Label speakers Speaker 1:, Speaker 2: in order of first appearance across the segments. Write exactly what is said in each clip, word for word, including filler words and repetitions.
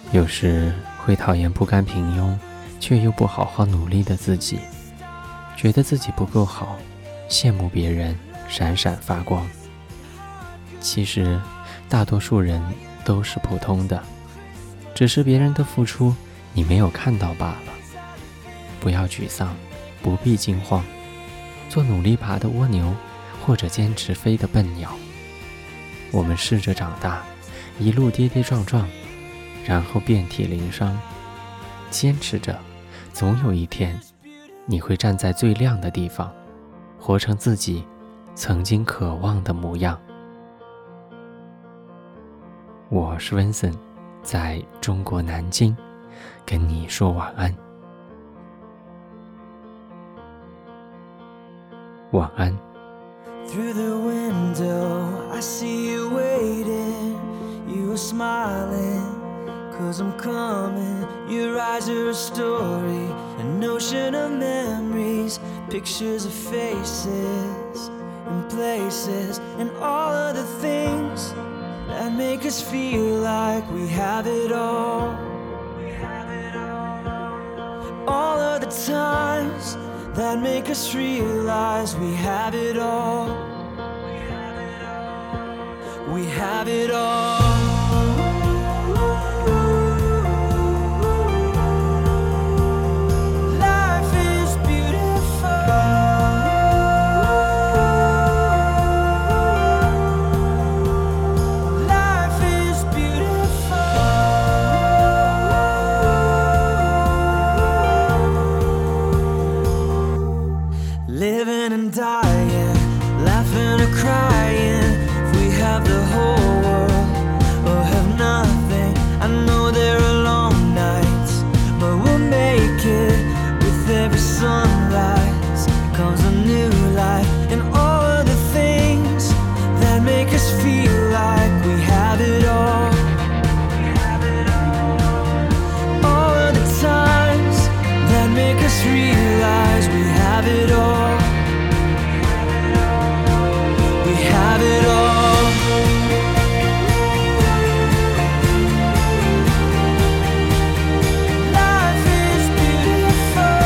Speaker 1: 有时会讨厌不甘平庸却又不好好努力的自己，觉得自己不够好，羡慕别人闪闪发光。其实大多数人都是普通的，只是别人的付出你没有看到罢了。不要沮丧，不必惊慌，做努力爬的蜗牛，或者坚持飞的笨鸟。我们试着长大，一路跌跌撞撞，然后遍体鳞伤。坚持着，总有一天你会站在最亮的地方，活成自己曾经渴望的模样。我是温森，在中国南京跟你说晚安。晚安。
Speaker 2: Through the window, I see you waiting. You are smiling, cause I'm coming. Your eyes are a story, an ocean of memories, pictures of faces and places, and all of the things that make us feel like we have it all. All of the times that make us realize we have it all. We have it all. Life is beautiful. Life is beautiful. Living and dying, laughing or crying. If we have the whole world or have nothing, I know there are long nights, but we'll make it. With every sunrise comes a new life, and all of the things that make us feel like we have it all. All of the times that make us realize we have it all. We have it all. Life is beautiful.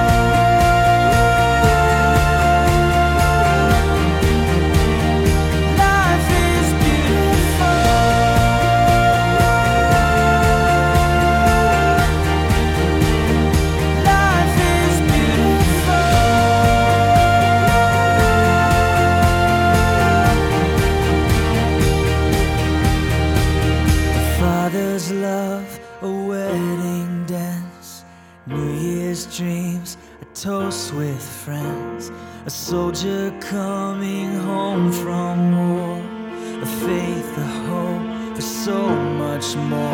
Speaker 2: Life is beautiful. Life is beautiful. Father's love, a wedding dance, New Year's dreams, a toast with friends, a soldier coming home from war, a faith, a hope for so much more.